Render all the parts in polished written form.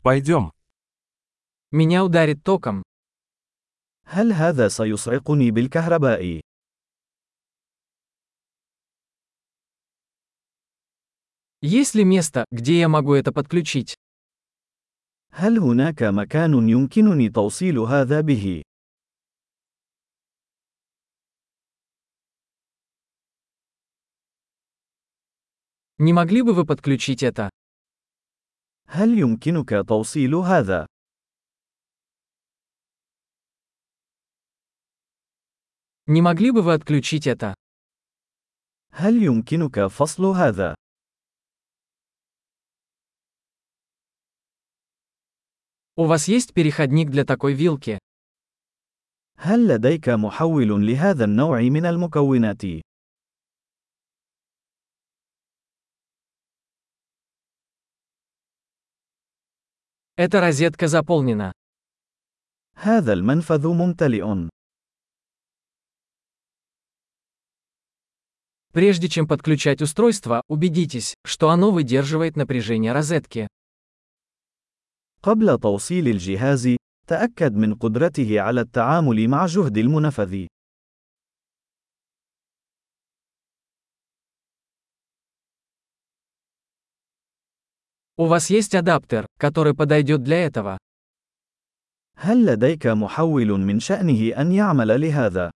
Пойдем. Меня ударит током. هل هذا سيصعقني بالكهرباء؟ Есть ли место, где я могу это подключить? هل هناك مكان يمكنني توصيل هذا به؟ Не могли бы вы подключить это? هل يمكنك توصيل هذا؟ Не могли бы вы отключить это? هل يمكنك فصل هذا؟ У вас есть переходник для такой вилки? هل لديك محول لهذا النوع من المكونات؟ Эта розетка заполнена. هذا المنفذ ممتلئ. Прежде чем подключать устройство, убедитесь, что оно выдерживает напряжение розетки. قبل توصيل الجهاز، تأكد من قدرته على التعامل مع جهد المنفذ. У вас есть адаптер, который подойдет для этого? هل لديك محول من شأنه أن يعمل لهذا؟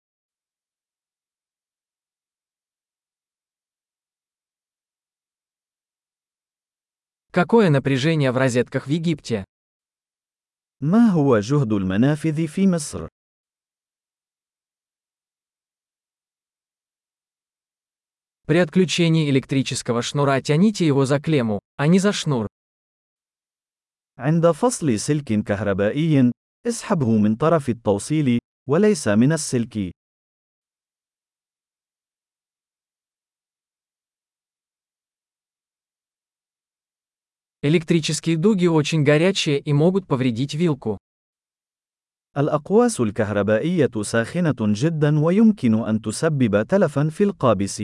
Какое напряжение в розетках в Египте? ما هو جهد المنافذ في مصر؟ При отключении электрического шнура тяните его за клемму, а не за шнур. عند فصل سلك كهربائي، اسحبه من طرف التوصيل، وليس من السلك. Электрические дуги очень горячие и могут повредить вилку. الأقواس الكهربائية ساخنة جدا ويمكن أن تسبب تلفا في القابس.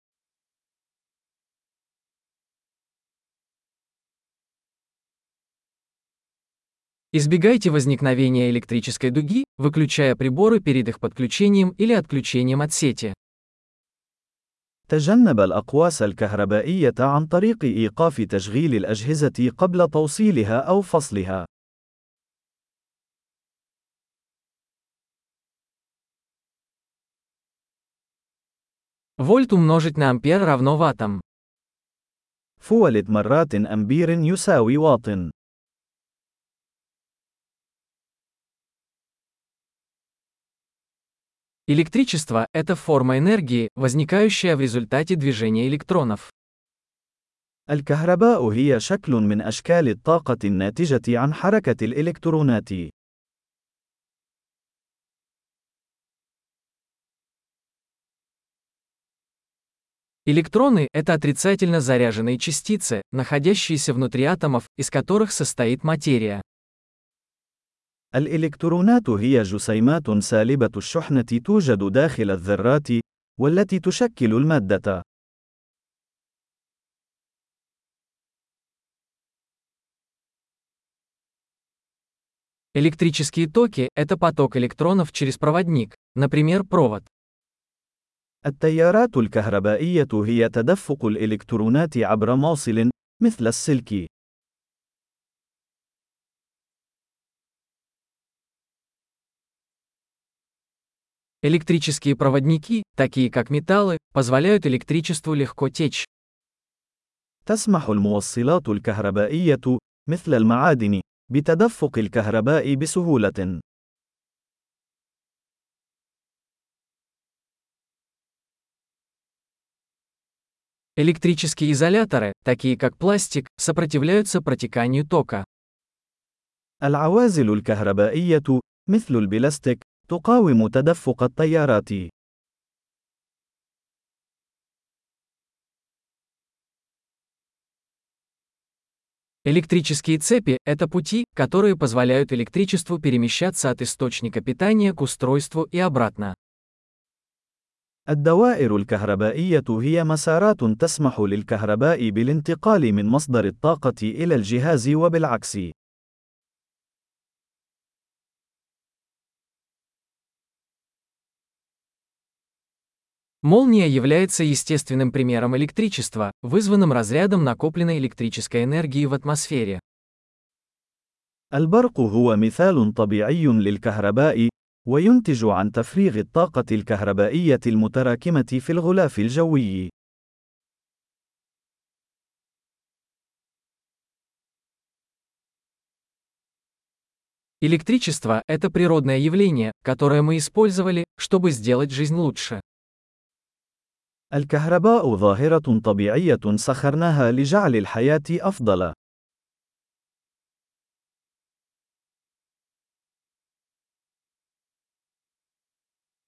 Избегайте возникновения электрической дуги, выключая приборы перед их подключением или отключением от сети. تجنب الأقواس الكهربائية عن طريق إيقاف تشغيل الأجهزة قبل توصيلها أو فصلها. Вольт умножить на ампер равно ваттам. فولت مرات أمبير يساوي واط. Электричество – это форма энергии, возникающая в результате движения электронов. الكهرباء هي شكل من أشكال الطاقة الناتجة عن حركة الإلكترونات. Электроны – это отрицательно заряженные частицы, находящиеся внутри атомов, из которых состоит материя. الإلكترونات هي جسيمات سالبة الشحنة توجد داخل الذرات، والتي تشكل المادة. Электрические токи – это поток электронов через проводник, например, провод. التيارات الكهربائية هي تدفق الإلكترونات عبر موصل، مثل السلك. Электрические проводники, такие как металлы, позволяют электричеству легко течь. تسمح الموصلات الكهربائية، مثل المعادن، بتدفق الكهرباء بسهولة. Электрические изоляторы, такие как пластик, сопротивляются протеканию тока. العوازل الكهربائية، مثل البلاستيك، تقاوم تدفق التيارات. Электрические цепи – это пути, которые позволяют электричеству перемещаться от источника питания к устройству и обратно. الدوائر الكهربائية هي مسارات تسمح للكهرباء بالانتقال من مصدر الطاقة إلى الجهاز وبالعكس. Молния является естественным примером электричества, вызванным разрядом накопленной электрической энергии в атмосфере. البرق هو مثال طبيعي للكهرباء، وينتج عن تفريغ الطاقة الكهربائية المتراكمة في الغلاف الجوي. Электричество– это природное явление, которое мы использовали, чтобы сделать жизнь лучше. الكهرباء ظاهرة طبيعية سخرناها لجعل الحياة أفضل.